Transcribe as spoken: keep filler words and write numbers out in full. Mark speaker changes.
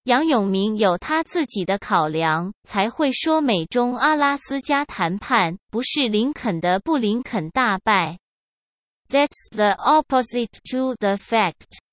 Speaker 1: 楊永明有他自己的考量，才會說美中阿拉斯加談判不是林肯的布林肯大敗。That's the opposite to the fact.